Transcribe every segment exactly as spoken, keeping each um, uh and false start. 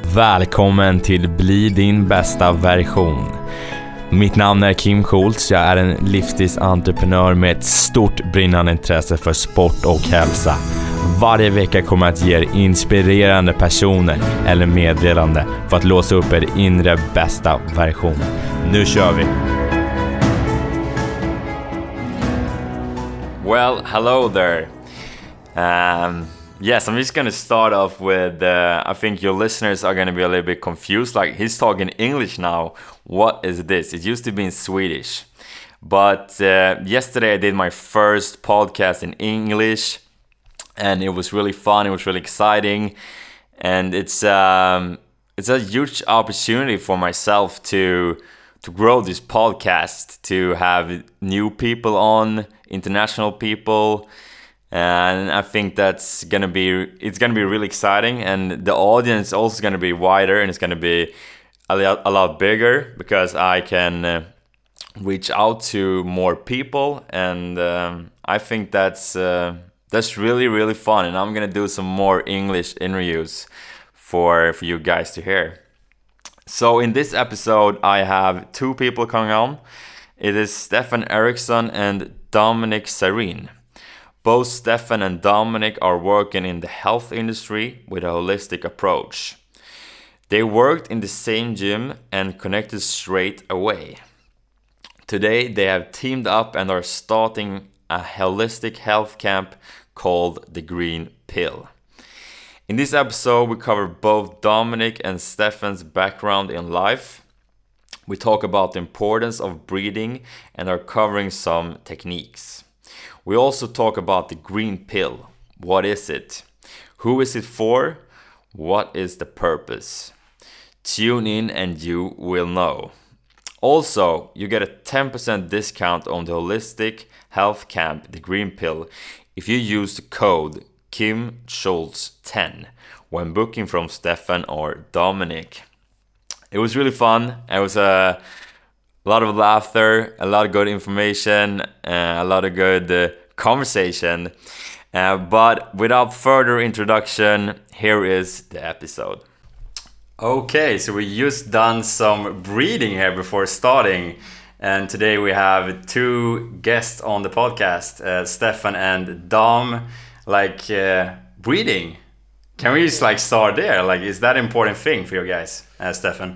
Välkommen till Bli din bästa version. Mitt namn är Kim Schultz. Jag är en livsstilsentreprenör med ett stort brinnande intresse för sport och hälsa. Varje vecka kommer jag att ge er inspirerande personer eller meddelande för att låsa upp er inre bästa version. Nu kör vi! Well, hello there. Um... Yes, I'm just going to start off with, uh, I think your listeners are going to be a little bit confused. Like, he's talking English now. What is this? It used to be in Swedish. But uh, yesterday I did my first podcast in English. And it was really fun. It was really exciting. And it's um, it's a huge opportunity for myself to to grow this podcast, to have new people on, international people. And I think that's gonna be it's gonna be really exciting, and the audience is also gonna be wider, and it's gonna be a lot, a lot bigger because I can uh, reach out to more people, and um, I think that's uh, that's really really fun. And I'm gonna do some more English interviews for for you guys to hear. So in this episode, I have two people coming on. It is Stefan Eriksson and Dominic Sarin. Both Stefan and Dominic are working in the health industry with a holistic approach. They worked in the same gym and connected straight away. Today they have teamed up and are starting a holistic health camp called The Green Pill. In this episode we cover both Dominic and Stefan's background in life. We talk about the importance of breathing and are covering some techniques. We also talk about the green pill. What is it? Who is it for? What is the purpose? Tune in and you will know. Also, you get a ten percent discount on the Holistic Health Camp, the Green Pill, if you use the code Kim Schultz ten when booking from Stefan or Dominic. It was really fun. It was a A lot of laughter, a lot of good information, uh, a lot of good uh, conversation. Uh, but without further introduction, here is the episode. Okay, so we just done some breathing here before starting. And today we have two guests on the podcast, uh, Stefan and Dom. Like, uh, breathing. Can we just like start there? Like, is that an important thing for you guys, uh, Stefan?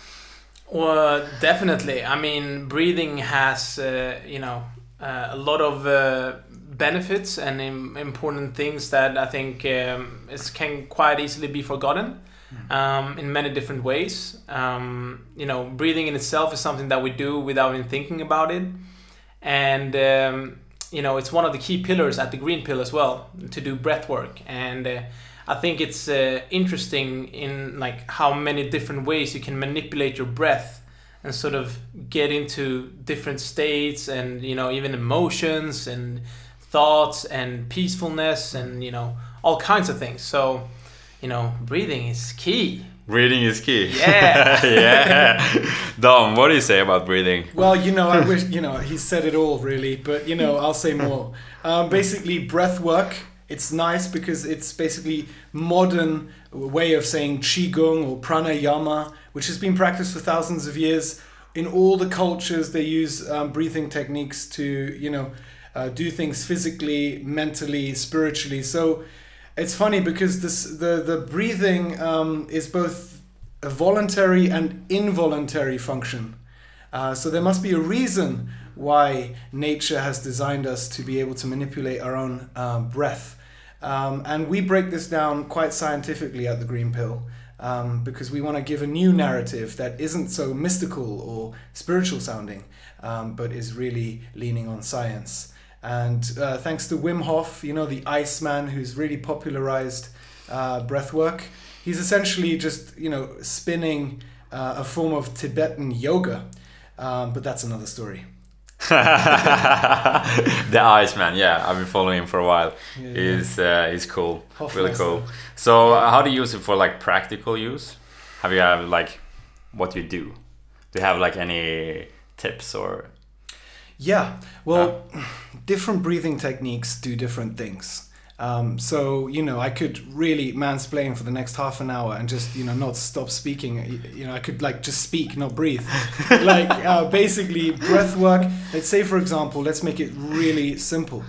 Well, definitely. I mean, breathing has, uh, you know, uh, a lot of uh, benefits and im- important things that I think um, is, can quite easily be forgotten um, in many different ways. Um, you know, breathing in itself is something that we do without even thinking about it. And, um, you know, it's one of the key pillars at the Green Pill as well, to do breath work. And uh, I think it's uh, interesting in like how many different ways you can manipulate your breath and sort of get into different states and, you know, even emotions and thoughts and peacefulness and, you know, all kinds of things. So, you know, breathing is key. Breathing is key. Yeah. Yeah. Dom, what do you say about breathing? Well, you know, I wish, you know, he said it all really, but, you know, I'll say more. Um, basically, breath work. It's nice because it's basically modern way of saying qigong or pranayama, which has been practiced for thousands of years. In all the cultures, they use um, breathing techniques to, you know, uh, do things physically, mentally, spiritually. So it's funny because this the the breathing um, is both a voluntary and involuntary function. Uh, so there must be a reason why nature has designed us to be able to manipulate our own uh, breath. Um, and we break this down quite scientifically at the Green Pill um, because we want to give a new narrative that isn't so mystical or spiritual sounding, um, but is really leaning on science. And uh, thanks to Wim Hof, you know, the Iceman who's really popularized uh, breath work, he's essentially just, you know, spinning uh, a form of Tibetan yoga, um, but that's another story. The Iceman, yeah, I've been following him for a while. Yeah, he's yeah. uh, he's cool, Hofmeister. really cool. So, uh, how do you use it for like practical use? Have you have like what you do? Do you have like any tips or? Yeah, well, uh. different breathing techniques do different things. Um, so, you know, I could really mansplain for the next half an hour and just, you know, not stop speaking. You know, I could like just speak, not breathe. Like uh, basically breath work. Let's say, for example, let's make it really simple.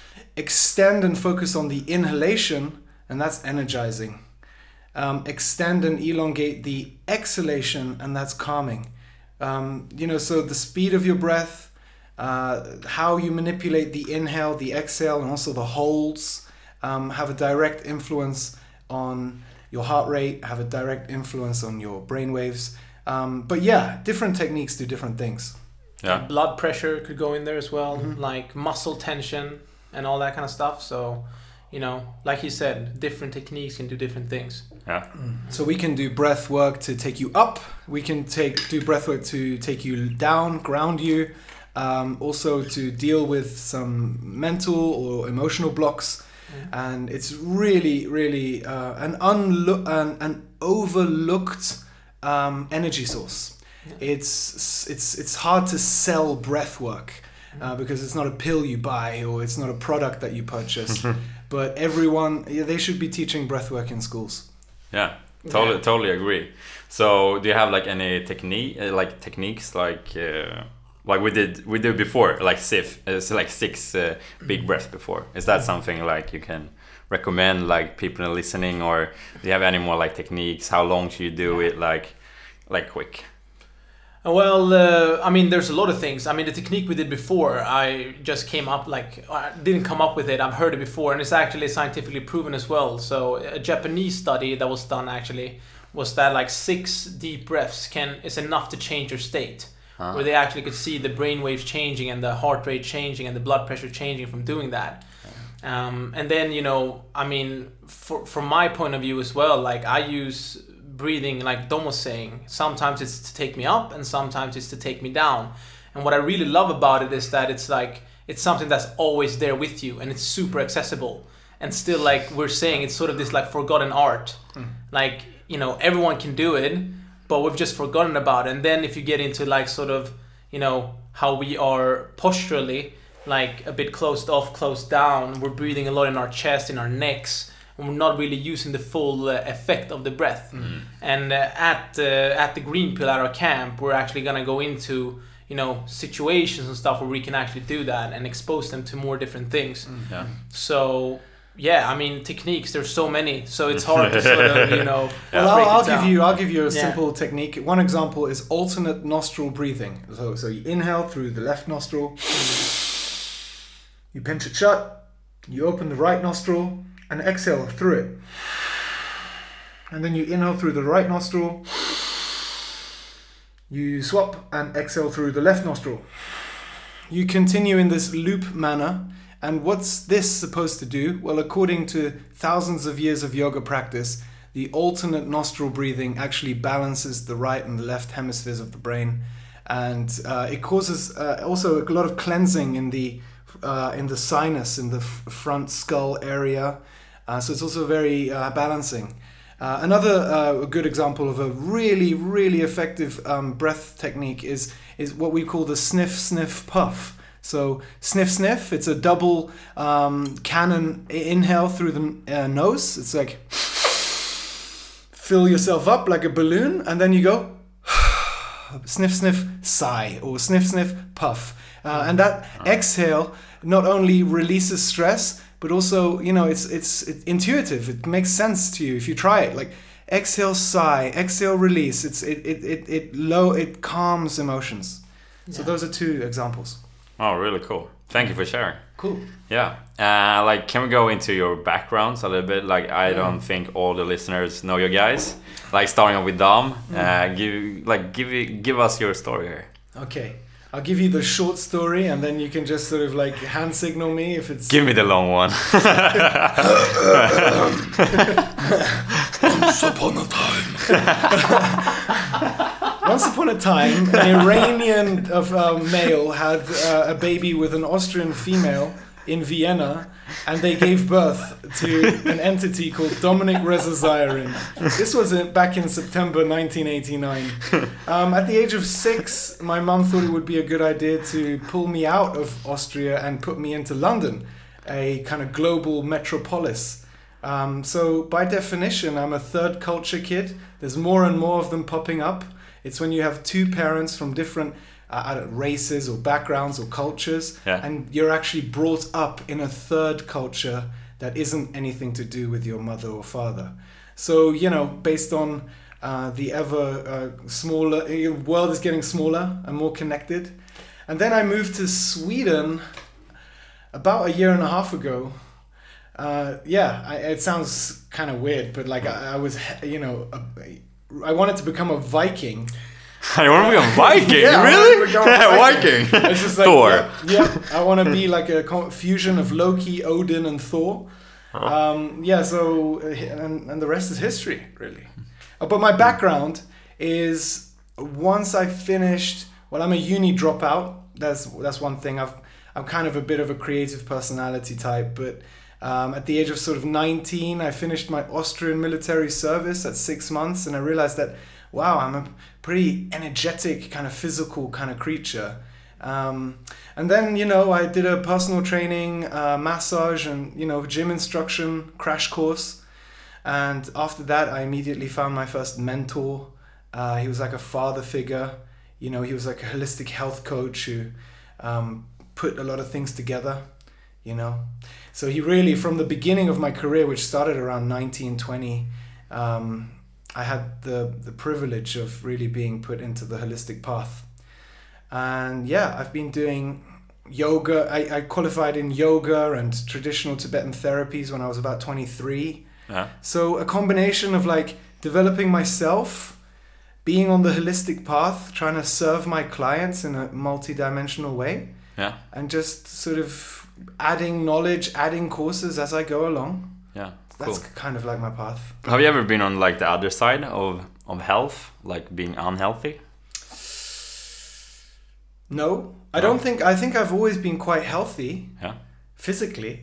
Extend and focus on the inhalation, and that's energizing. Um, extend and elongate the exhalation, and that's calming. Um, you know, so the speed of your breath, uh, how you manipulate the inhale, the exhale, and also the holds um, have a direct influence on your heart rate, have a direct influence on your brain waves. Um, but yeah, different techniques do different things. Yeah. Blood pressure could go in there as well, Mhm. like muscle tension and all that kind of stuff. So, you know, like you said, different techniques can do different things. Yeah. So we can do breath work to take you up. We can take do breath work to take you down, ground you. Um, also to deal with some mental or emotional blocks. And it's really, really uh, an unlo- an, an overlooked um, energy source. Yeah. It's it's it's hard to sell breath work uh, because it's not a pill you buy or it's not a product that you purchase. But everyone, yeah, they should be teaching breath work in schools. Yeah. Totally, Yeah. totally agree. So, do you have like any technique, uh, like techniques, like uh, like we did we did before, like sif, uh, so like six uh, big breaths before? Is that something like you can recommend, like people are listening, or do you have any more like techniques? How long should you do it? Like, like quick. Well, uh, I mean, there's a lot of things. I mean, the technique we did before, I just came up like, I didn't come up with it. I've heard it before, and it's actually scientifically proven as well. So a Japanese study that was done actually was that like six deep breaths can is enough to change your state. Huh. Where they actually could see the brain waves changing and the heart rate changing and the blood pressure changing from doing that. Um, and then, you know, I mean, for, from my point of view as well, like I use breathing, like Dom was saying, sometimes it's to take me up and sometimes it's to take me down. And what I really love about it is that it's like, it's something that's always there with you and it's super accessible. And still, like we're saying, it's sort of this like forgotten art. Mm. Like, you know, everyone can do it, but we've just forgotten about it. And then if you get into like sort of, you know, how we are posturally, like a bit closed off, closed down, we're breathing a lot in our chest, in our necks, and we're not really using the full uh, effect of the breath. Mm. And uh, at uh, at the Green Pill at our camp, we're actually gonna go into, you know, situations and stuff where we can actually do that and expose them to more different things. Mm. Yeah. So yeah, I mean, techniques, there's so many, so it's hard to sort of, you know, Well, break I'll, I'll it down. give you I'll give you a Yeah. simple technique. One example is alternate nostril breathing. So so you inhale through the left nostril, you pinch it shut, you open the right nostril and exhale through it. And then you inhale through the right nostril, you swap and exhale through the left nostril. You continue in this loop manner. And what's this supposed to do? Well, according to thousands of years of yoga practice, the alternate nostril breathing actually balances the right and the left hemispheres of the brain. And uh, it causes uh, also a lot of cleansing in the uh, in the sinus, in the f- front skull area. Uh, so it's also very uh, balancing. Uh, another uh, good example of a really, really effective um, breath technique is is what we call the sniff, sniff, puff. So sniff, sniff, it's a double um, cannon inhale through the uh, nose. It's like fill yourself up like a balloon and then you go sniff, sniff, sigh, or sniff, sniff, puff. Uh, and that exhale not only releases stress, but also, you know, it's, it's it's intuitive. It makes sense to you if you try it. Like exhale, sigh, exhale, release. It's it it it, it low it calms emotions. So Yeah. those are two examples. Oh, really cool. Thank you for sharing. Cool. Yeah. Uh, like, can we go into your backgrounds a little bit? Like, I don't think all the listeners know you guys. Like, starting off with Dom. Uh, give like give it, give us your story here. Okay. I'll give you the short story and then you can just sort of like hand signal me if it's... Give me the long one. Once upon a time. Once upon a time, an Iranian of, uh, male had uh, a baby with an Austrian female in Vienna, and they gave birth to an entity called Dominic Reza Zirin. This was in, back in September nineteen eighty-nine. Um, at the age of six, my mum thought it would be a good idea to pull me out of Austria and put me into London. a kind of global metropolis. Um, so by definition, I'm a third culture kid. There's more and more of them popping up. It's when you have two parents from different uh, races or backgrounds or cultures, yeah. and you're actually brought up in a third culture that isn't anything to do with your mother or father. So, you know, based on uh, the ever uh, smaller, the world is getting smaller and more connected. And then I moved to Sweden about a year and a half ago. Uh, yeah, I, it sounds kind of weird, but like I, I was, you know, a, I wanted to become a Viking. I want to become a Viking? Yeah, really? Viking. Viking. It's just like, Thor. Yeah, yeah, I want to be like a fusion of Loki, Odin, and Thor. Huh. Um, yeah, so, and, and the rest is history, really. Uh, but my background is, once I finished, well, I'm a uni dropout. That's that's one thing. I've, I'm kind of a bit of a creative personality type, but um, at the age of sort of nineteen, I finished my Austrian military service at six months, and I realized that, wow, I'm a pretty energetic, kind of physical kind of creature. Um, and then, you know, I did a personal training, uh, massage and, you know, gym instruction crash course. And after that, I immediately found my first mentor. Uh, he was like a father figure. You know, he was like a holistic health coach who um, put a lot of things together, you know. So he really, from the beginning of my career, which started around nineteen, twenty, um, I had the, the privilege of really being put into the holistic path. And yeah, I've been doing yoga. I, I qualified in yoga and traditional Tibetan therapies when I was about twenty-three. Yeah. So a combination of like developing myself, being on the holistic path, trying to serve my clients in a multi-dimensional way, yeah, and just sort of adding knowledge, adding courses as I go along. Yeah, That's cool. kind of like my path. Have you ever been on like the other side of, of health, like being unhealthy? No, I No? don't think, I think I've always been quite healthy. Yeah. Physically.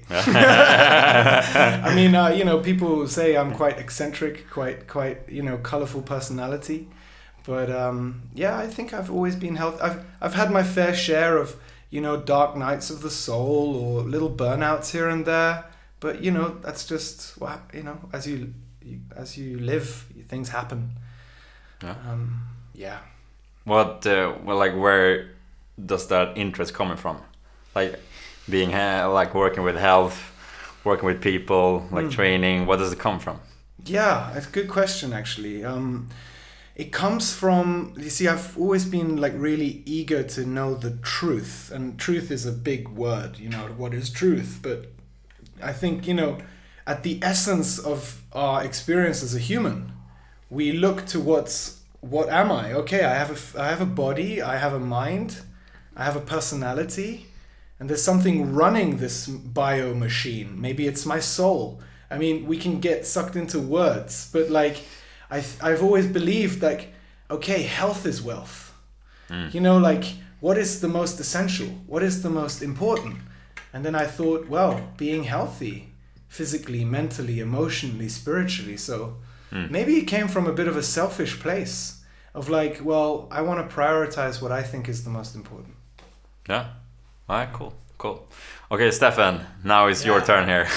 I mean, uh, you know, people say I'm quite eccentric, quite, quite, you know, colorful personality. But um, yeah, I think I've always been healthy. I've, I've had my fair share of, you know, dark nights of the soul or little burnouts here and there. But, you know, that's just, well, you know, as you, you as you live, things happen. Yeah. Um, yeah. What, uh, well, like, where does that interest coming from? Like, being uh, like working with health, working with people, like mm. training. What does it come from? Yeah, it's a good question actually. Um, it comes from, you see, I've always been like really eager to know the truth, and truth is a big word. You know, what is truth? But I think, you know, at the essence of our experience as a human, we look to what's what am I? Okay, I have a I have a body, I have a mind, I have a personality. And there's something running this bio machine. Maybe it's my soul. I mean, we can get sucked into words, but like, I I've always believed like, okay, health is wealth. Mm. You know, like, what is the most essential? What is the most important? And then I thought, well, being healthy, physically, mentally, emotionally, spiritually. So mm. maybe it came from a bit of a selfish place of like, well, I want to prioritize what I think is the most important. Yeah. All right, cool, cool. Okay, Stefan, now it's yeah. your turn here.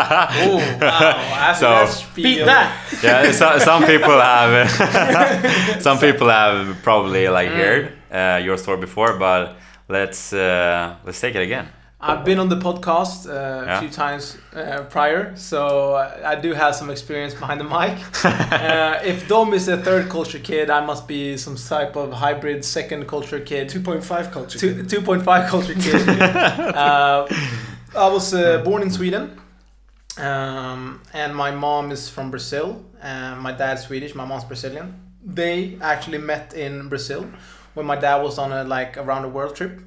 Oh, wow. So, beat that. Yeah, so, some people have, some people have probably like mm. heard uh, your story before, but let's uh, let's take it again. I've been on the podcast uh, yeah. a few times uh, prior, so I do have some experience behind the mic. uh, if Dom is a third culture kid, I must be some type of hybrid second culture kid. two point five culture Two, kid. two point five culture kid. uh, I was uh, born in Sweden, um, and my mom is from Brazil, and my dad's Swedish, my mom's Brazilian. They actually met in Brazil when my dad was on a like around the world trip.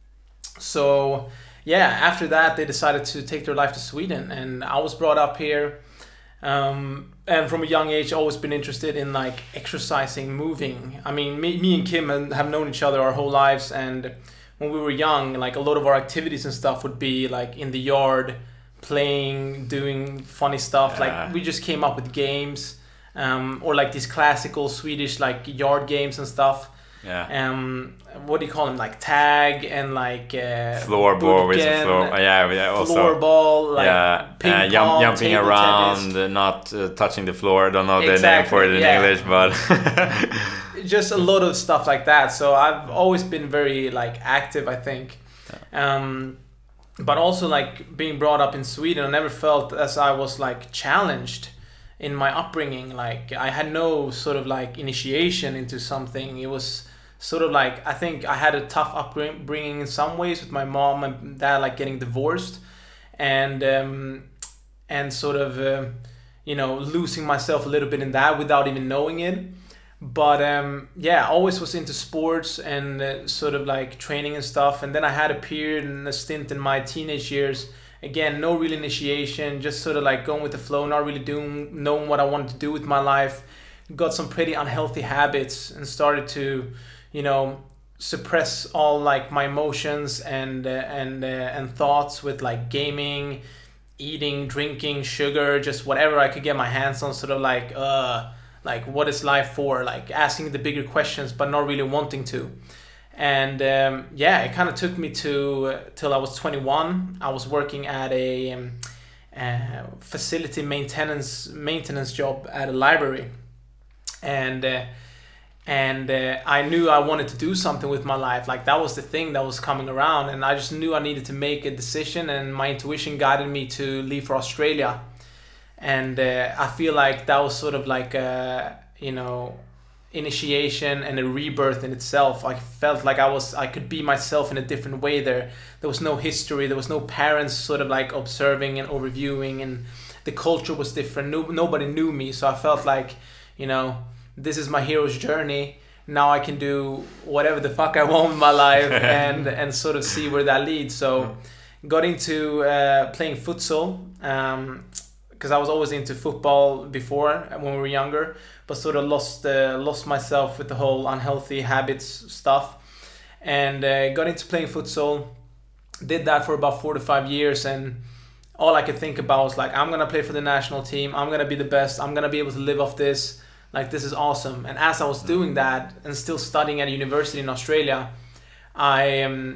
So yeah, after that they decided to take their life to Sweden, and I was brought up here, um, and from a young age always been interested in like exercising, moving. I mean, me, me and Kim have known each other our whole lives, and when we were young, like a lot of our activities and stuff would be like in the yard, playing, doing funny stuff. Yeah. Like we just came up with games, um, or like these classical Swedish like yard games and stuff. Yeah. Um, what do you call them? Like tag and like uh, floorball with the Burken, floor. Oh, yeah, yeah. Also, floorball, like yeah, ping uh, pong, jump, jumping table around, tennis. uh, not uh, touching the floor. I don't know Exactly, the name for it in yeah. English, but just a lot of stuff like that. So I've always been very like active, I think. Um, but also like being brought up in Sweden, I never felt as I was like challenged in my upbringing. Like I had no sort of like initiation into something. It was sort of like, I think I had a tough upbringing in some ways with my mom and dad like getting divorced, and um, and sort of uh, you know, losing myself a little bit in that without even knowing it. But um, yeah, I always was into sports and uh, sort of like training and stuff. And then I had a period and a stint in my teenage years. Again, no real initiation, just sort of like going with the flow, not really doing, knowing what I wanted to do with my life. Got some pretty unhealthy habits and started to, you know, suppress all like my emotions and uh, and uh, and thoughts with like gaming, eating, drinking, sugar, just whatever I could get my hands on. Sort of like, uh. like what is life for, like asking the bigger questions but not really wanting to. And um, yeah, it kind of took me to uh, till I was twenty-one. I was working at a um, uh, facility maintenance maintenance job at a library, and uh, and uh, I knew I wanted to do something with my life. Like that was the thing that was coming around, and I just knew I needed to make a decision, and my intuition guided me to leave for Australia. And uh, I feel like that was sort of like a, you know, initiation and a rebirth in itself. I felt like I was, I could be myself in a different way there. There was no history, there was no parents sort of like observing and overviewing, and the culture was different. No, nobody knew me, so I felt like, you know, this is my hero's journey. Now I can do whatever the fuck I want with my life and and sort of see where that leads. So got into uh, playing futsal. Um, because I was always into football before when we were younger, but sort of lost uh, lost myself with the whole unhealthy habits stuff, and uh, got into playing futsal. Did that for about four to five years, and all I could think about was like, I'm gonna play for the national team. I'm gonna be the best. I'm gonna be able to live off this. Like, this is awesome. And as I was doing that and still studying at a university in Australia, I um,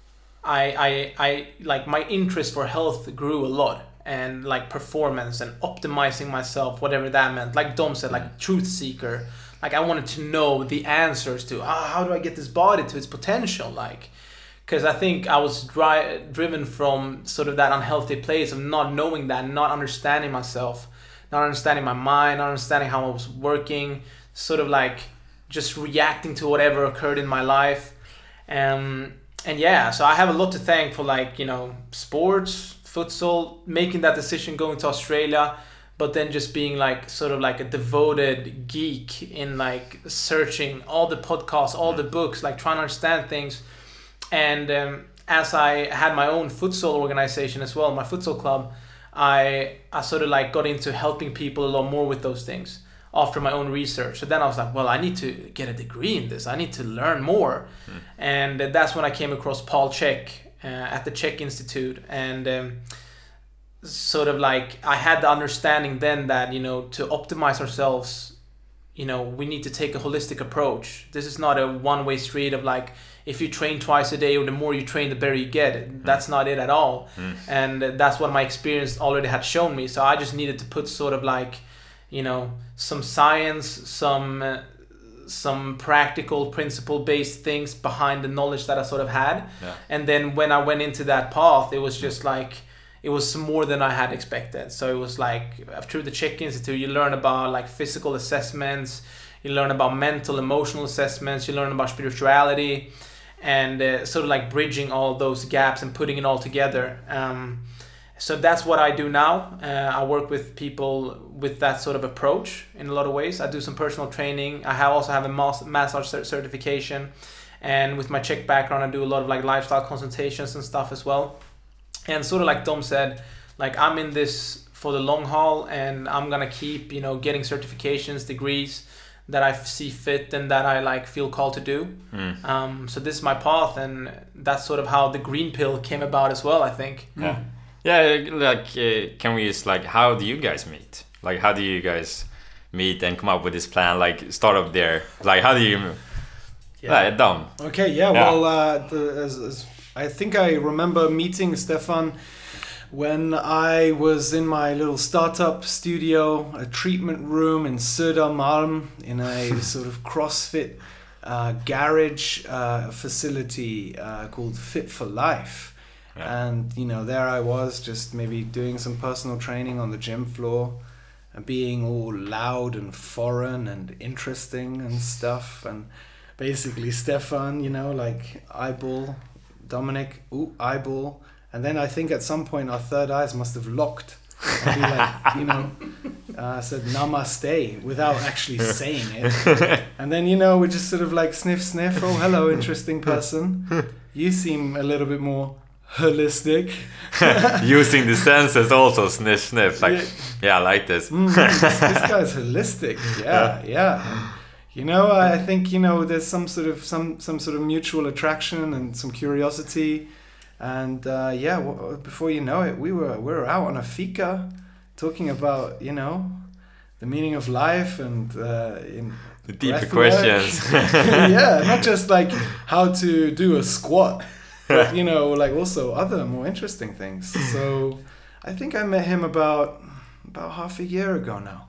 I I I like my interest for health grew a lot. And like performance and optimizing myself, whatever that meant. Like Dom said, like truth seeker. Like I wanted to know the answers to, ah, how do I get this body to its potential? Like, because I think I was dri- driven from sort of that unhealthy place of not knowing that, not understanding myself, not understanding my mind, not understanding how I was working, sort of like just reacting to whatever occurred in my life. Um, and yeah, so I have a lot to thank for, like, you know, sports, futsal, making that decision, going to Australia, but then just being like sort of like a devoted geek in like searching all the podcasts, all the books, like trying to understand things. And um, as I had my own futsal organization as well, my futsal club, I I sort of like got into helping people a lot more with those things after my own research. So then I was like, well, I need to get a degree in this. I need to learn more. Mm. And that's when I came across Paul Chek uh, at the Chek Institute. And um, sort of like I had the understanding then that, you know, to optimize ourselves, you know, we need to take a holistic approach. This is not a one-way street of like, if you train twice a day or the more you train, the better you get. Mm. That's not it at all. Mm. And that's what my experience already had shown me. So I just needed to put sort of like, you know, some science, some uh, some practical principle-based things behind the knowledge that I sort of had. Yeah. And then when I went into that path, it was just like, it was more than I had expected. So it was like, through the Chek Institute, you learn about like physical assessments, you learn about mental, emotional assessments, you learn about spirituality, and uh, sort of like bridging all those gaps and putting it all together. Um, so that's what I do now. Uh, I work with people with that sort of approach in a lot of ways. I do some personal training. I have also have a mas- massage certification, and with my Chek background, I do a lot of like lifestyle consultations and stuff as well. And sort of like Dom said, like I'm in this for the long haul, and I'm gonna keep, you know, getting certifications, degrees that I see fit and that I like feel called to do. Mm. Um, so this is my path, and that's sort of how the green pill came about as well, I think. Yeah, yeah. Like, uh, can we just like, how do you guys meet? Like, how do you guys meet and come up with this plan? Like, start up there. Like, how do you? Yeah, done. Okay, yeah, Yeah. well, uh, the, as, as I think I remember meeting Stefan when I was in my little startup studio, a treatment room in Södermalm, in a sort of CrossFit uh, garage uh, facility uh, called Fit for Life. Yeah. And, you know, there I was just maybe doing some personal training on the gym floor, and being all loud and foreign and interesting and stuff. And basically Stefan, you know, like eyeball, Dominic, ooh, eyeball. And then I think at some point our third eyes must have locked. And we like, you know, uh, said namaste without actually saying it. And then, you know, we just sort of like sniff, sniff. Oh, hello, interesting person. You seem a little bit more holistic. Using the senses also, sniff, sniff. Like, Yeah. yeah, I like this. Mm, this, this guy's holistic. Yeah, yeah. And, you know, I think, you know, there's some sort of some some sort of mutual attraction and some curiosity. And uh, yeah, w- before you know it, we were we were out on a fika, talking about, you know, the meaning of life and uh, in The deeper breath work. questions. Yeah, not just like how to do a squat, but, you know, like also other more interesting things. So I think I met him about about half a year ago now.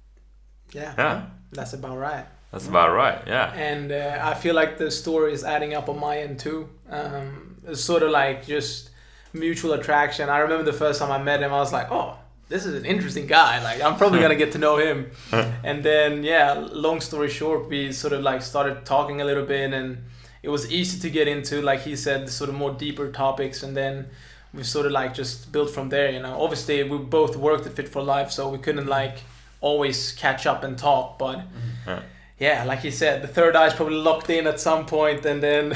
Yeah, Yeah, that's about right. that's about right. Yeah. And uh, I feel like the story is adding up on my end too. Um, it's sort of like just mutual attraction. I remember the first time I met him, I was like, oh, this is an interesting guy. Like, I'm probably gonna get to know him. And then, yeah, long story short, we sort of like started talking a little bit, and it was easy to get into, like he said, the sort of more deeper topics. And then we sort of like just built from there, you know. Obviously, we both worked at Fit for Life, so we couldn't like always catch up and talk, but Yeah. yeah, like you said, the third eye is probably locked in at some point, and then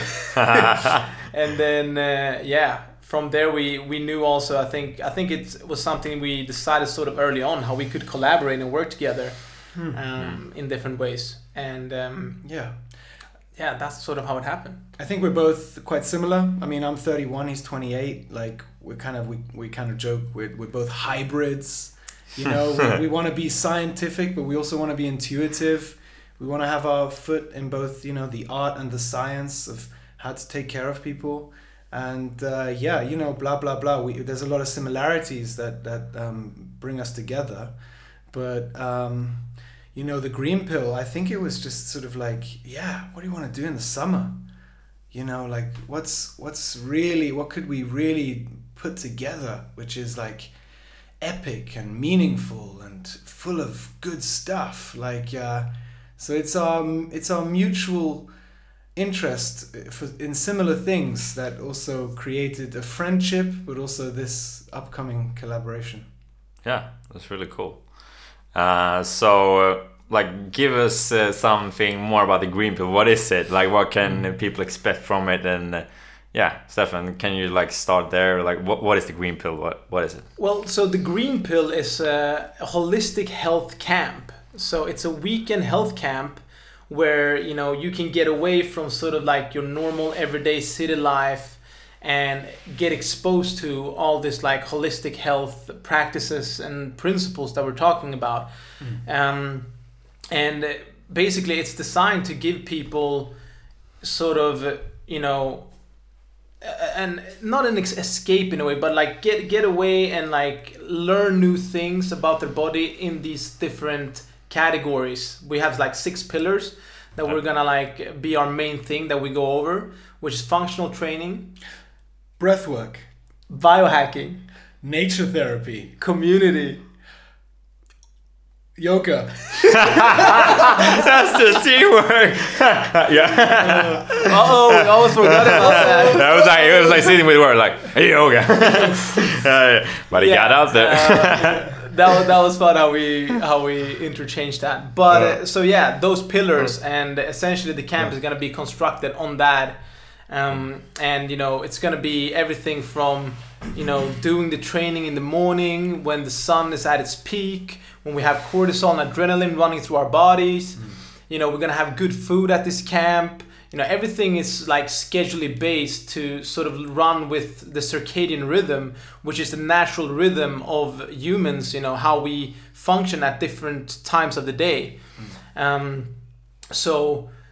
and then uh, yeah, from there we we knew also. I think I think it was something we decided sort of early on, how we could collaborate and work together um, in different ways, and um, Yeah. yeah, that's sort of how it happened. I think we're both quite similar. I mean, I'm thirty-one, he's twenty-eight. Like, we're kind of, we, we kind of joke, we're, we're both hybrids. You know, we, we want to be scientific, but we also want to be intuitive. We want to have our foot in both, you know, the art and the science of how to take care of people. And uh, yeah, you know, blah, blah, blah. We, there's a lot of similarities that, that um, bring us together. But, um, you know, the green pill, I think it was just sort of like, yeah, what do you want to do in the summer? You know, like, what's what's really, what could we really put together, which is like epic and meaningful and full of good stuff. Like, uh, so it's our, it's our mutual interest for, in similar things that also created a friendship, but also this upcoming collaboration. Yeah, that's really cool. Uh, so, uh, like, give us uh, something more about the green pill. What is it? Like, what can uh, people expect from it? And uh, yeah, Stefan, can you like start there? Like, what what is the green pill? What what is it? Well, so the green pill is a, a holistic health camp. So it's a weekend health camp where, you know, you can get away from sort of like your normal everyday city life and get exposed to all this like holistic health practices and principles that we're talking about. Mm. Um, and basically it's designed to give people sort of, you know, and not an escape in a way, but like get get away and like learn new things about their body in these different categories. We have like six pillars that we're gonna like be our main thing that we go over, which is functional training, breathwork, biohacking, nature therapy, community, yoga. That's the teamwork. Yeah. Uh oh, we almost forgot about that. That was like it was like sitting with the word like hey, yoga. uh, but he Yeah, got out there. uh, that was that was fun how we how we interchanged that. But uh, so yeah, those pillars, and essentially the camp is gonna be constructed on that. Um, and you know, it's gonna be everything from, you know, doing the training in the morning when the sun is at its peak, when we have cortisol and adrenaline running through our bodies. Mm. You know, we're gonna have good food at this camp. You know, everything is like schedulally based to sort of run with the circadian rhythm, which is the natural rhythm of humans, you know, how we function at different times of the day. Mm. Um, so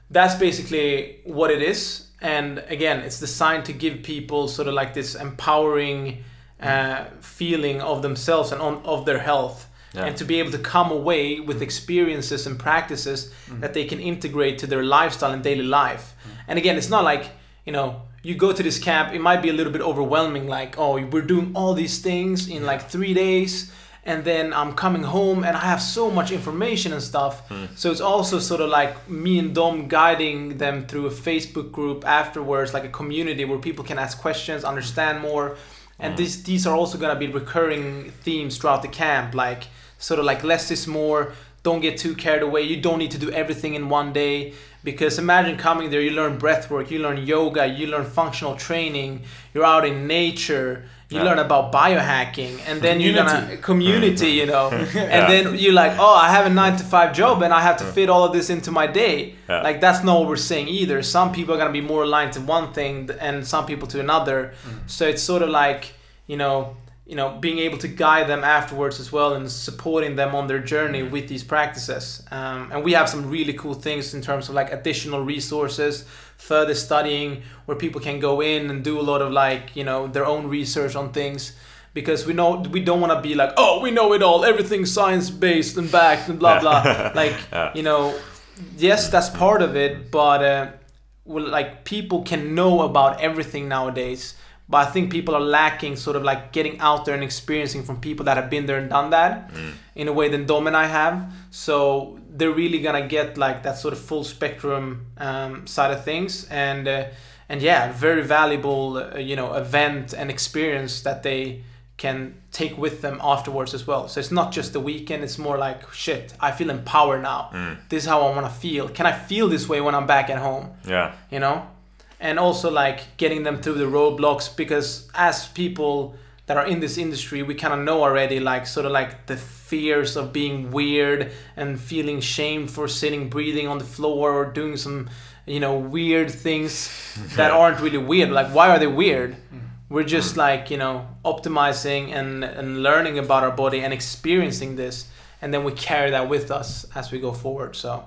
that's basically what it is. And again, it's designed to give people sort of like this empowering uh, feeling of themselves and on, of their health. Yeah. And to be able to come away with experiences and practices mm. that they can integrate to their lifestyle and daily life. Mm. And again, it's not like, you know, you go to this camp, it might be a little bit overwhelming, like, oh, we're doing all these things in like three days, and then I'm coming home and I have so much information and stuff. Mm. So it's also sort of like me and Dom guiding them through a Facebook group afterwards, like a community where people can ask questions, understand more. And mm. this, these are also going to be recurring themes throughout the camp, like sort of like less is more, don't get too carried away, you don't need to do everything in one day. Because imagine coming there, you learn breathwork, you learn yoga, you learn functional training, you're out in nature, you yeah. learn about biohacking, and then community. you're gonna community, you know, and yeah. then you're like, oh, I have a nine to five job and I have to fit all of this into my day. Yeah. Like that's not what we're saying either. Some people are gonna be more aligned to one thing and some people to another. Mm. So it's sort of like, you know, you know, being able to guide them afterwards as well and supporting them on their journey with these practices. Um, and we have some really cool things in terms of like additional resources, further studying where people can go in and do a lot of like, you know, their own research on things. Because we know we don't want to be like, oh, we know it all, everything's science-based and backed and blah, blah. Like, yeah. you know, yes, that's part of it, but uh, well, like people can know about everything nowadays. But I think people are lacking sort of like getting out there and experiencing from people that have been there and done that mm. in a way than Dom and I have. So they're really going to get like that sort of full spectrum um, side of things. And, uh, and yeah, very valuable, uh, you know, event and experience that they can take with them afterwards as well. So it's not just the weekend. It's more like, shit, I feel empowered now. Mm. This is how I want to feel. Can I feel this way when I'm back at home? Yeah. You know? And also like getting them through the roadblocks, because as people that are in this industry, we kind of know already like sort of like the fears of being weird and feeling shame for sitting, breathing on the floor or doing some, you know, weird things that aren't really weird. Like, why are they weird? We're just like, you know, optimizing and, and learning about our body and experiencing this. And then we carry that with us as we go forward. So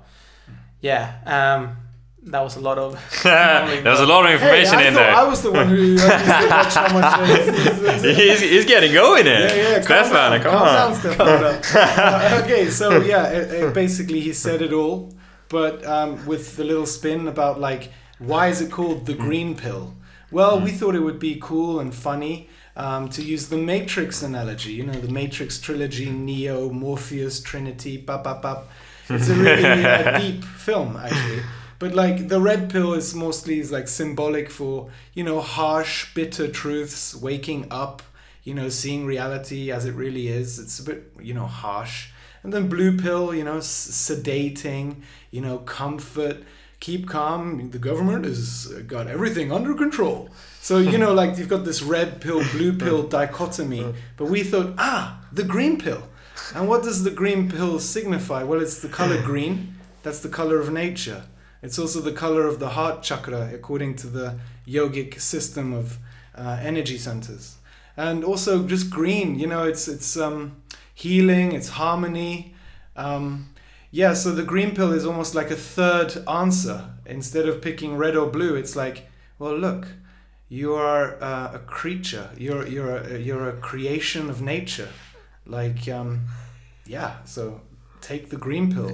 yeah, um, that was a lot of... there was a lot of information hey, in there. I was the one who watched how much... Uh, he's, he's getting going here. Yeah, yeah. Stefan, come calm on. Down, Stefan. uh, okay, so yeah, it, it basically he said it all, but um, with the little spin about like, why is it called the green pill? Well, mm. we thought it would be cool and funny um, to use the Matrix analogy. You know, the Matrix trilogy, Neo, Morpheus, Trinity, bap, bap, bap. It's a really uh, deep film, actually. But like the red pill is mostly is like symbolic for, you know, harsh, bitter truths, waking up, you know, seeing reality as it really is. It's a bit, you know, harsh. And then blue pill, you know, s- sedating, you know, comfort, keep calm. The government has got everything under control. So, you know, like you've got this red pill, blue pill dichotomy. But we thought, ah, the green pill. And what does the green pill signify? Well, it's the color green. That's the color of nature. It's also the color of the heart chakra, according to the yogic system of uh, energy centers. And also just green, you know, it's it's um, healing, it's harmony. Um, yeah, so the green pill is almost like a third answer. Instead of picking red or blue, it's like, well, look, you are uh, a creature. You're you're a, you're a creation of nature. Like, um, yeah, so take the green pill.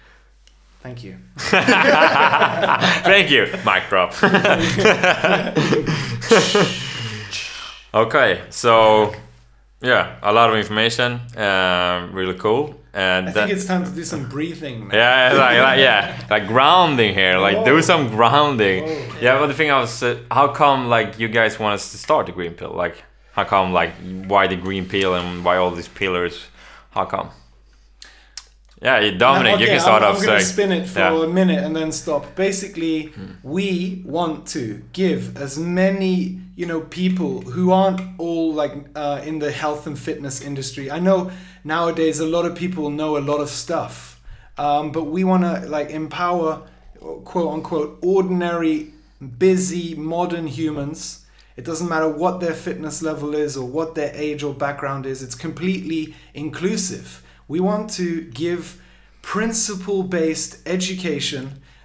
Thank you. Thank you. Mic drop. Okay, so yeah, a lot of information. Um, really cool. And I think it's time to do some breathing. Man. Yeah, like, like yeah, like grounding here. Like Whoa. do some grounding. Whoa. Yeah, but the thing I was, uh, how come like you guys want us to start the green pill? Like, how come like why the green pill and why all these pillars? How come? Yeah, Dominic, okay, you can start I'm, off. I'm going to spin it for yeah. a minute and then stop. Basically, hmm. we want to give as many, you know, people who aren't all like uh, in the health and fitness industry. I know nowadays a lot of people know a lot of stuff, um, but we want to like empower, quote unquote, ordinary, busy, modern humans. It doesn't matter what their fitness level is or what their age or background is. It's completely inclusive. We want to give principle-based education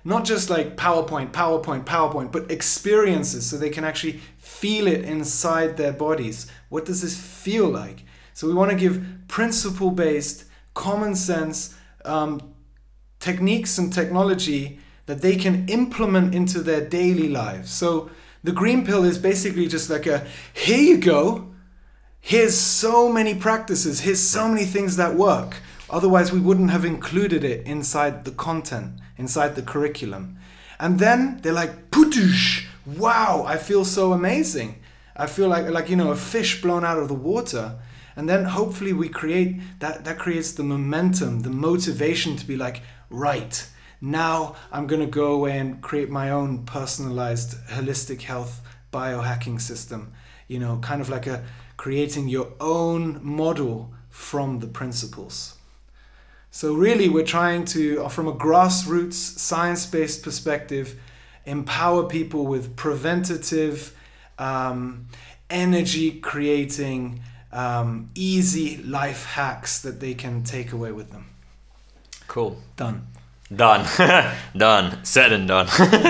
not just like PowerPoint, PowerPoint, PowerPoint, but experiences, so they can actually feel it inside their bodies. What does this feel like? So we want to give principle-based, common sense um, techniques and technology that they can implement into their daily lives. So the green pill is basically just like a, here you go, here's so many practices, here's so many things that work. Otherwise we wouldn't have included it inside the content, inside the curriculum. And then they're like, putush, wow, I feel so amazing. I feel like, like, you know, a fish blown out of the water. And then hopefully we create, that, that creates the momentum, the motivation to be like, right, now I'm going to go away and create my own personalized holistic health biohacking system. You know, kind of like a creating your own model from the principles. So really we're trying to, from a grassroots science-based perspective, empower people with preventative, um, energy creating, um, easy life hacks that they can take away with them. Cool. Done. Done. Done. Said and done.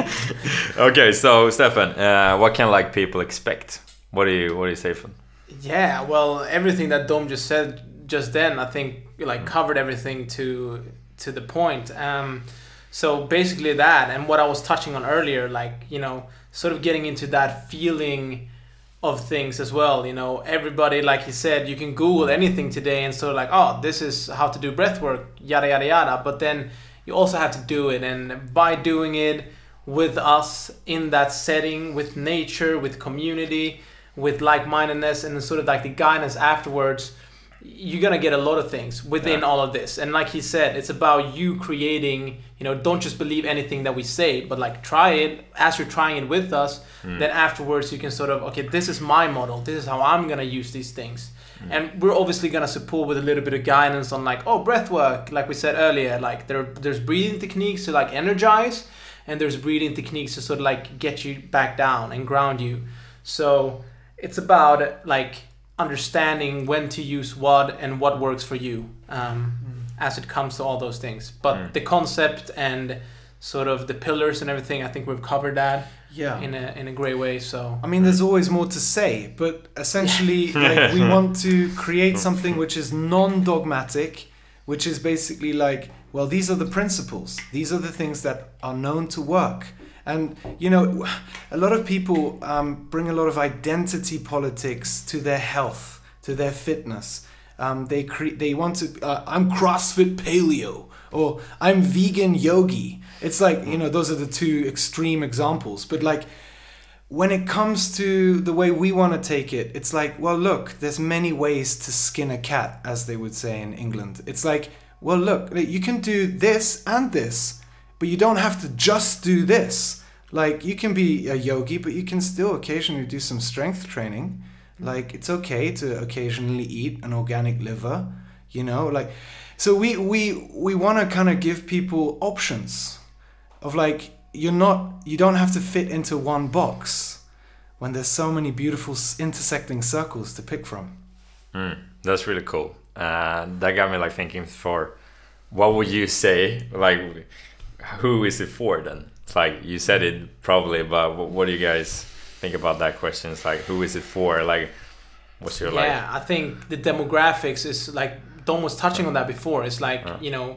Okay, so Stefan, uh, what can like people expect? What do you what do you say for them? Yeah, well, everything that Dom just said just then, I think like covered everything to to the point. Um, so basically that, and what I was touching on earlier, like, you know, sort of getting into that feeling of things as well. You know, everybody, like he said, you can Google anything today and sort of like, oh, this is how to do breath work, yada yada yada. But then you also have to do it, and by doing it with us in that setting, with nature, with community, with like-mindedness, and sort of like the guidance afterwards, you're gonna get a lot of things within yeah. all of this. And like he said, it's about you creating, you know, don't just believe anything that we say, but like try it. As you're trying it with us, mm. then afterwards you can sort of, okay, this is my model, this is how I'm gonna use these things. Mm. And we're obviously gonna support with a little bit of guidance on like, oh, breath work, like we said earlier, like there there's breathing techniques to like energize, and there's breathing techniques to sort of like get you back down and ground you. So it's about like understanding when to use what and what works for you, um, mm. as it comes to all those things. But mm. the concept and sort of the pillars and everything, I think we've covered that yeah. in a in a great way. So I mean, there's always more to say, but essentially like, we want to create something which is non-dogmatic, which is basically like, well, these are the principles, these are the things that are known to work. And, you know, a lot of people um, bring a lot of identity politics to their health, to their fitness. Um, they cre- they want to, uh, I'm CrossFit paleo, or I'm vegan yogi. It's like, you know, those are the two extreme examples. But like, when it comes to the way we want to take it, it's like, well, look, there's many ways to skin a cat, as they would say in England. It's like, well, look, you can do this and this, but you don't have to just do this. Like, you can be a yogi, but you can still occasionally do some strength training. Like, it's okay to occasionally eat an organic liver, you know? Like, so we we we want to kind of give people options of like, you're not, you don't have to fit into one box when there's so many beautiful intersecting circles to pick from. Mm, that's really cool. Uh, that got me like thinking for, what would you say, like, who is it for then? It's like, you said it probably, but what do you guys think about that question? It's like, who is it for? Like, what's your like? Yeah, I think the demographics is like, Dom was touching on that before. It's like, uh. you know,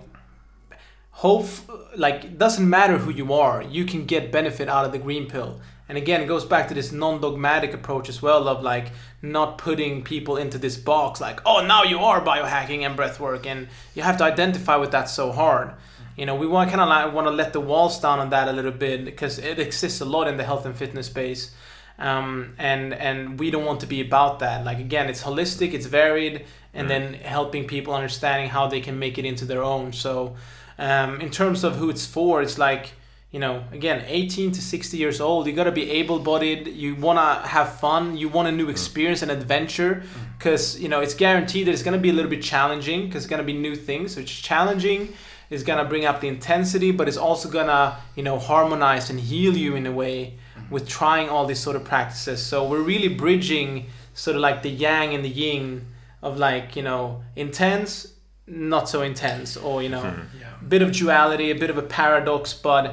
hope, like, it doesn't matter who you are, you can get benefit out of the green pill. And again, it goes back to this non-dogmatic approach as well of like not putting people into this box like, oh, now you are biohacking and breathwork, and you have to identify with that so hard. You know, we want kind of like want to let the walls down on that a little bit, because it exists a lot in the health and fitness space, um, and and we don't want to be about that. Like, again, it's holistic, it's varied, and mm. then helping people understanding how they can make it into their own. So, um, in terms of who it's for, it's like, you know, again, eighteen to sixty years old, you gotta be able-bodied, you wanna have fun, you want a new experience and adventure, because, you know, it's guaranteed that it's gonna be a little bit challenging, because it's gonna be new things, so it's challenging. Is gonna bring up the intensity, but it's also gonna, you know, harmonize and heal you in a way with trying all these sort of practices. So we're really bridging sort of like the yang and the yin of like, you know, intense, not so intense, or, you know, mm-hmm. yeah. a bit of duality, a bit of a paradox, but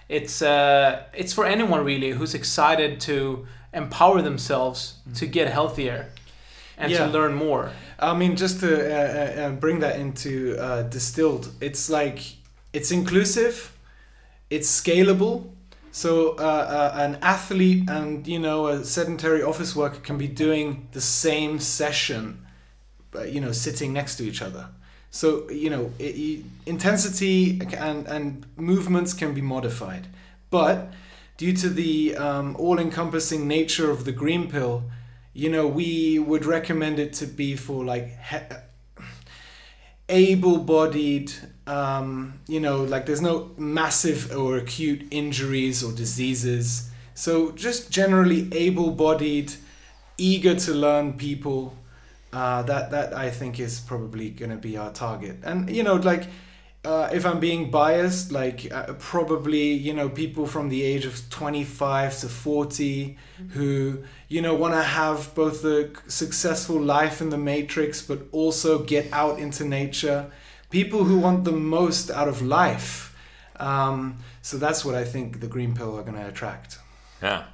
it's uh, it's for anyone really who's excited to empower themselves mm. to get healthier and yeah. to learn more. I mean, just to uh, uh, bring that into uh, distilled, it's like it's inclusive, it's scalable. So uh, uh, an athlete and, you know, a sedentary office worker can be doing the same session, uh, you know, sitting next to each other. So, you know, it, it, intensity and, and movements can be modified. But due to the um, all-encompassing nature of the green pill, you know, we would recommend it to be for like he- able-bodied, um, you know, like there's no massive or acute injuries or diseases. So just generally able-bodied, eager to learn people. Uh, that that I think is probably gonna be our target. And you know, like uh, if I'm being biased, like uh, probably you know people from the age of twenty-five to forty who you know want to have both a successful life in the matrix, but also get out into nature. People who want the most out of life. Um, so that's what I think the green pill are gonna attract. Yeah.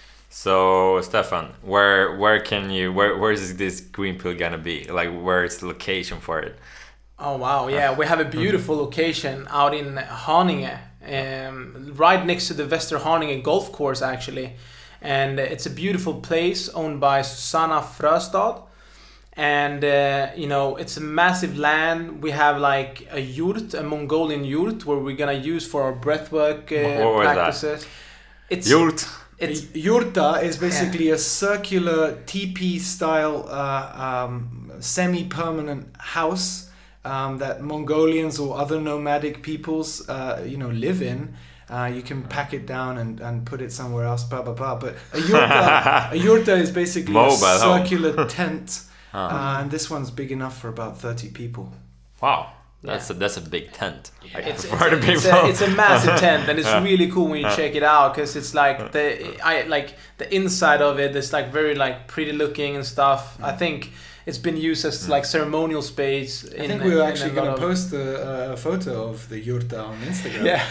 So Stefan, where where can you where where is this green pill gonna be? Like, where is the location for it? Oh wow, yeah, we have a beautiful location out in Haninge, um, right next to the Västerhaninge golf course actually, and it's a beautiful place owned by Susanna Fröstad, and uh, you know it's a massive land. We have like a yurt, a Mongolian yurt, where we're gonna use for our breathwork uh, what was practices. That? It's yurt. It's, Yurta is basically yeah. a circular teepee style uh, um, semi-permanent house um, that Mongolians or other nomadic peoples uh, you know live in. Uh, you can pack it down and, and put it somewhere else, blah blah blah. But a yurta, a yurta is basically Mobile a circular home. tent, uh-huh. uh, and this one's big enough for about thirty people. Wow. That's yeah. a that's a big tent. Yeah. It's, it's, a, it's, a, it's a massive tent, and it's yeah. really cool when you check it out because it's like the I like the inside of it is like very like pretty looking and stuff. Mm. I think it's been used as mm. like ceremonial space. I in, think we were actually going to post a, a photo of the yurta on Instagram. Yeah.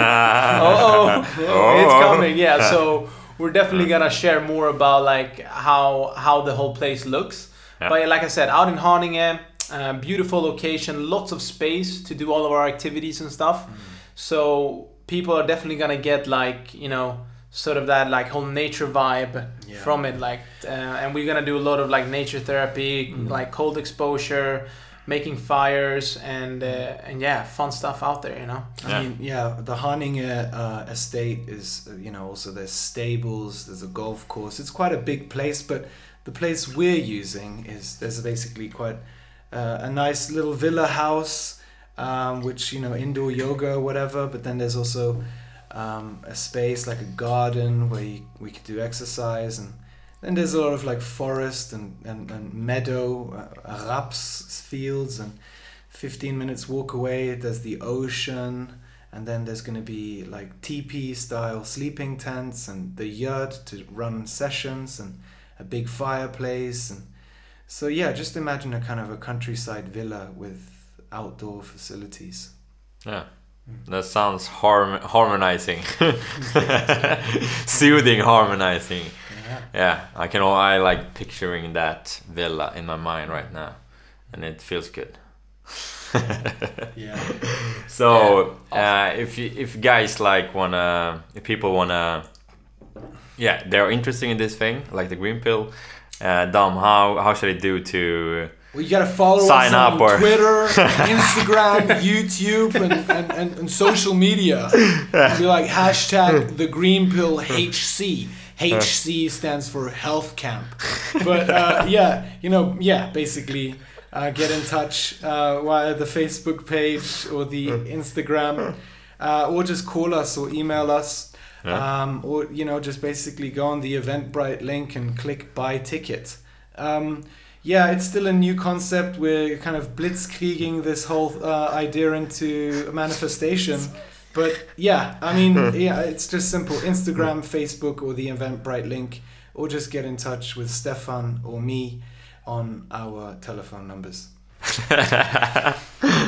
oh, oh, oh, it's coming. Yeah. So we're definitely gonna share more about like how how the whole place looks. Yeah. But like I said, out in Haninge. Uh, beautiful location, lots of space to do all of our activities and stuff. Mm. So people are definitely gonna get like you know sort of that like whole nature vibe yeah. from it. Like, uh, and we're gonna do a lot of like nature therapy, mm. like cold exposure, making fires, and uh, and yeah, fun stuff out there. You know. Yeah. I mean, yeah, the Haninge uh, estate is uh, you know also there's stables, there's a golf course. It's quite a big place, but the place we're using is there's basically quite. Uh, a nice little villa house, um, which, you know, indoor yoga or whatever, but then there's also um, a space like a garden where you, we could do exercise, and then there's a lot of like forest and, and, and meadow, uh, raps fields, and fifteen minutes walk away there's the ocean, and then there's going to be like teepee style sleeping tents and the yurt to run sessions and a big fireplace. And so yeah, just imagine a kind of a countryside villa with outdoor facilities. Yeah, that sounds harm- harmonizing, soothing, harmonizing. Yeah. yeah, I can. I like picturing that villa in my mind right now, and it feels good. yeah. So yeah. Uh, if you, if guys like wanna, if people wanna, yeah, they're interested in this thing, like the green pill. Uh, Dom, how how should I do to well, you gotta follow sign us up on or Twitter, Instagram, YouTube, and, and, and, and social media. Be like hashtag the green pill H C. H C stands for health camp. But uh, yeah, you know, yeah, basically uh, get in touch uh, via the Facebook page or the Instagram, uh, or just call us or email us. Yeah. Um, or you know, just basically go on the Eventbrite link and click buy ticket. Um, yeah, it's still a new concept. We're kind of blitzkrieging this whole uh, idea into a manifestation. But yeah, I mean, yeah, it's just simple. Instagram, Facebook, or the Eventbrite link, or just get in touch with Stefan or me on our telephone numbers.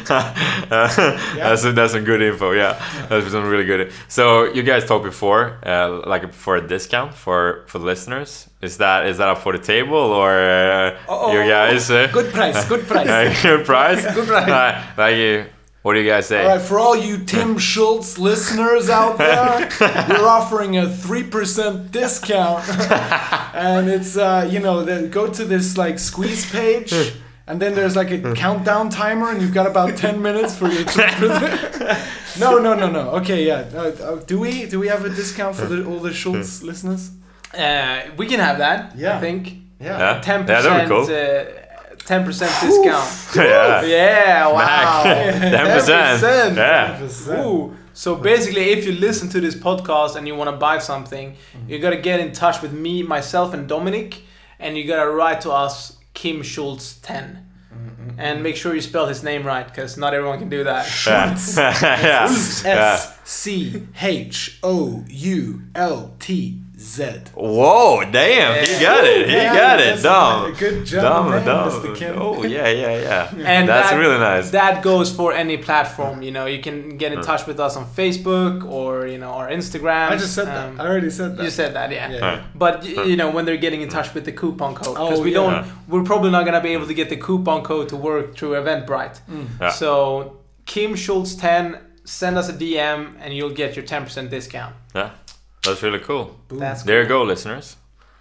That's that's some good info. Yeah, that's some really good. So you guys talked before, uh, like for a discount for for the listeners. Is that is that up for the table or uh, Oh, you guys? Uh, good price, good price. good price. Good price. Uh, like you. What do you guys say? All right, for all you Tim Schultz listeners out there, we're offering a three percent discount. And it's, uh, you know, the, go to this like squeeze page, and then there's like a countdown timer, and you've got about ten minutes for your three percent. No, no, no, no. Okay, yeah. Uh, uh, do we do we have a discount for the, all the Schultz listeners? Uh, we can have that. Yeah. I think Yeah. ten Yeah, that'd percent. be cool. Uh, ten percent discount. yeah. Yeah. Wow. ten percent. Yeah. Ooh. So basically, if you listen to this podcast and you want to buy something, mm-hmm. you gotta get in touch with me, myself, and Dominic, and you gotta write to us Kim Schultz ten, mm-hmm. and make sure you spell his name right, because not everyone can do that. Schultz. yeah. S C H O U L T Z. Whoa, damn, he got it. He Yeah, got it. that's Dumb. a good job, Dumb, dumb. Mister Kim. Oh, yeah, yeah, yeah. And That's that, really nice. That goes for any platform. You know, you can get in touch with us on Facebook or you know our Instagram. I just said Um, that. I already said that. You said that, yeah. Yeah. Huh. But y- you know when they're getting in touch with the coupon code, because Oh, we yeah. don't, we're probably not gonna be able to get the coupon code to work through Eventbrite. Mm. Yeah. So Kim Schultz ten, send us a D M and you'll get your ten percent discount. Yeah, that's really cool. Boom. That's There you go, listeners.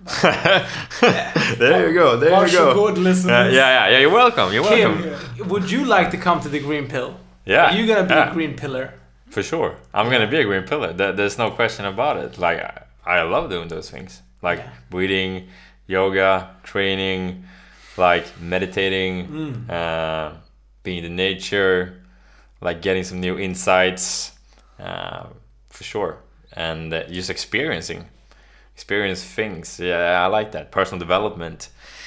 there you go. There you go. Good listeners. Uh, yeah, yeah, yeah. You're welcome. You're welcome. Kim, would you like to come to the Green Pill? Yeah. Are you gonna be yeah. a green pillar? For sure. I'm gonna be a green pillar. There, there's no question about it. Like I, I love doing those things. Like Yeah. breathing, yoga, training, like meditating, Mm. uh, being in nature, like getting some new insights, uh, for sure. And uh, just experiencing, experience things. Yeah, I like that. Personal development.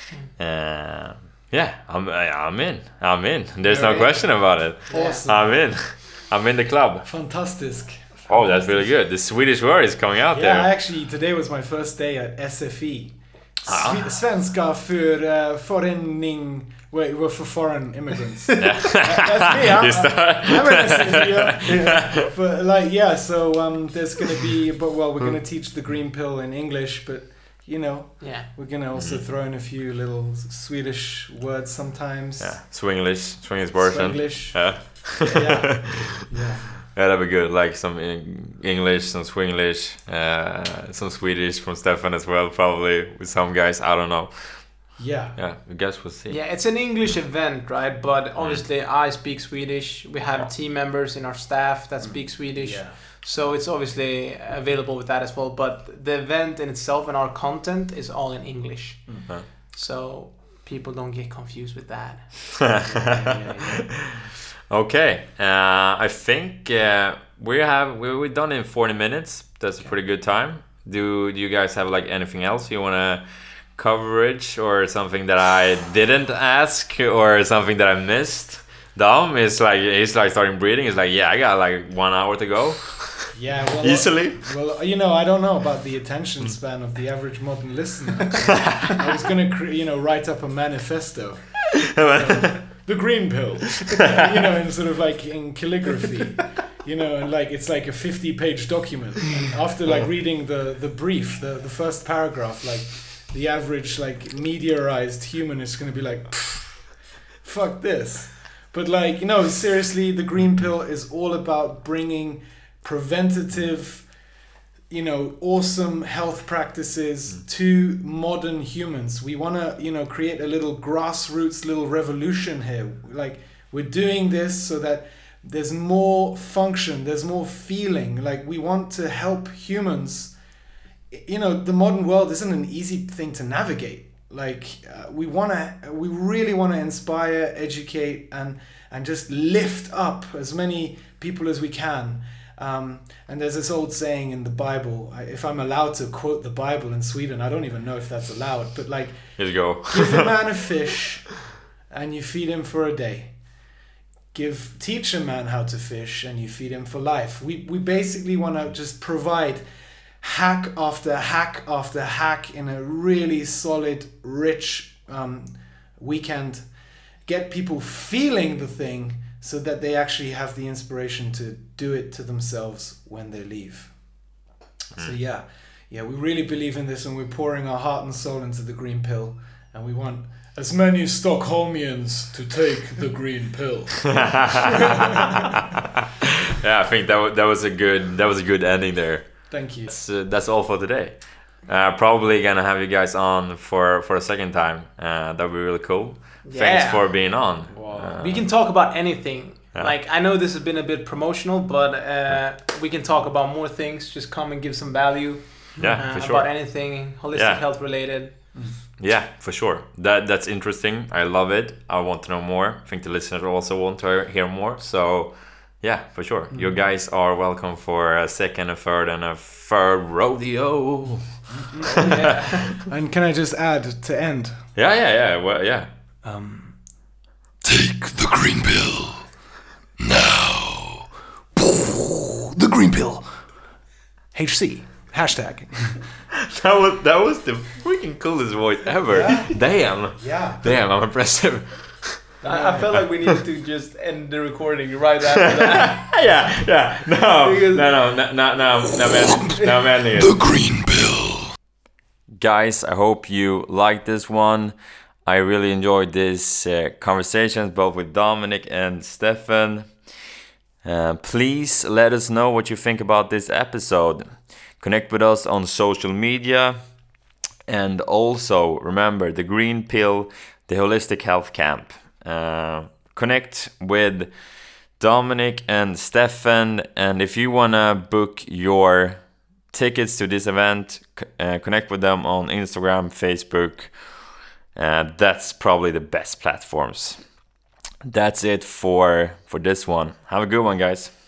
Uh, yeah, I'm I'm in. I'm in. There's no You're in. question about it. Awesome. I'm in. I'm in the club. Fantastic. Oh, that's really good. The Swedish word is coming out Yeah, there. actually, today was my first day at S F I. Ah. Svi- Svenska för uh, förening... Wait, well, for foreign immigrants. Yeah. That's me. I'm, You start- I'm an S F I. Yeah. Yeah. But like, yeah. So um, there's gonna be, but well, we're gonna teach the green pill in English, but you know, Yeah. we're gonna also throw in a few little Swedish words sometimes. Yeah, Swinglish, Swinglish version. Swenglish. Yeah. Yeah. Yeah. Yeah, that'd be good. Like some in- English, some Swinglish, uh, some Swedish from Stefan as well, probably with some guys. I don't know. Yeah. Yeah, I guess we'll see. Yeah, it's an English event, right? But obviously, I speak Swedish. We have team members in our staff that speak Swedish. Yeah. So it's obviously available with that as well. But the event in itself and our content is all in English. Mhm. So people don't get confused with that. Yeah, yeah. Okay, uh, I think uh, we have we we're done in forty minutes. That's a pretty good time. Do do you guys have like anything else you wanna coverage or something that I didn't ask or something that I missed? Dom is like he's like starting breathing. He's like, yeah, I got like one hour to go. Yeah, well, Easily. Well, you know, I don't know about the attention span of the average modern listener. I was gonna, cre- you know, write up a manifesto, the green pill, you know, in sort of like in calligraphy, you know, and like it's like a fifty-page document. And after like reading the the brief, the the first paragraph, like the average like mediarized human is gonna be like, fuck this. But like, you know, seriously, the green pill is all about bringing preventative, you know, awesome health practices to modern humans. We want to, you know, create a little grassroots little revolution here. Like, we're doing this so that there's more function, there's more feeling. Like, we want to help humans. You know, the modern world isn't an easy thing to navigate. Like, uh, we want to, we really want to inspire, educate, and and just lift up as many people as we can. Um, and there's this old saying in the Bible, I, if I'm allowed to quote the Bible in Sweden, I don't even know if that's allowed, but like, Here you go. give a man a fish and you feed him for a day. Give, teach a man how to fish and you feed him for life. We, we basically want to just provide hack after hack after hack in a really solid, rich um, weekend. Get people feeling the thing so that they actually have the inspiration to do it to themselves when they leave. Mm. So yeah, yeah, we really believe in this, and we're pouring our heart and soul into the green pill, and we want as many Stockholmians to take the green pill. Yeah, I think that w- that was a good that was a good ending there. Thank you. That's, uh, that's all for today. Uh, probably gonna have you guys on for for a second time. Uh, that'd be really cool. Yeah. Thanks for being on. Wow. Uh, We can talk about anything. Yeah. Like, I know this has been a bit promotional, but uh, we can talk about more things. Just come and give some value. yeah, uh, for sure. About anything holistic Yeah. health related. Yeah, for sure. That that's interesting. I love it. I want to know more. I think the listeners also want to hear more. So, yeah, for sure. Mm. You guys are welcome for a second, a third, and a third rodeo. Yeah. And can I just add to end? Yeah, yeah, yeah. Well, yeah. Um, Take the green pill now. The green pill. H C. Hashtag. That was that was the freaking coolest voice ever. Yeah. Damn. Yeah. Damn, I'm impressive. I, I felt like we needed to just end the recording right after that. yeah, yeah. No, Because- no, no, no, no, no, no, man, no, man. The green pill. Guys, I hope you liked this one. I really enjoyed this uh, conversations both with Dominic and Stefan. Uh, please let us know what you think about this episode. Connect with us on social media. And also remember the Green Pill, the Holistic Health Camp. Uh, connect with Dominic and Stefan. And if you want to book your tickets to this event, uh, connect with them on Instagram, Facebook. Uh, that's probably the best platforms. That's it for for this one. Have a good one, guys.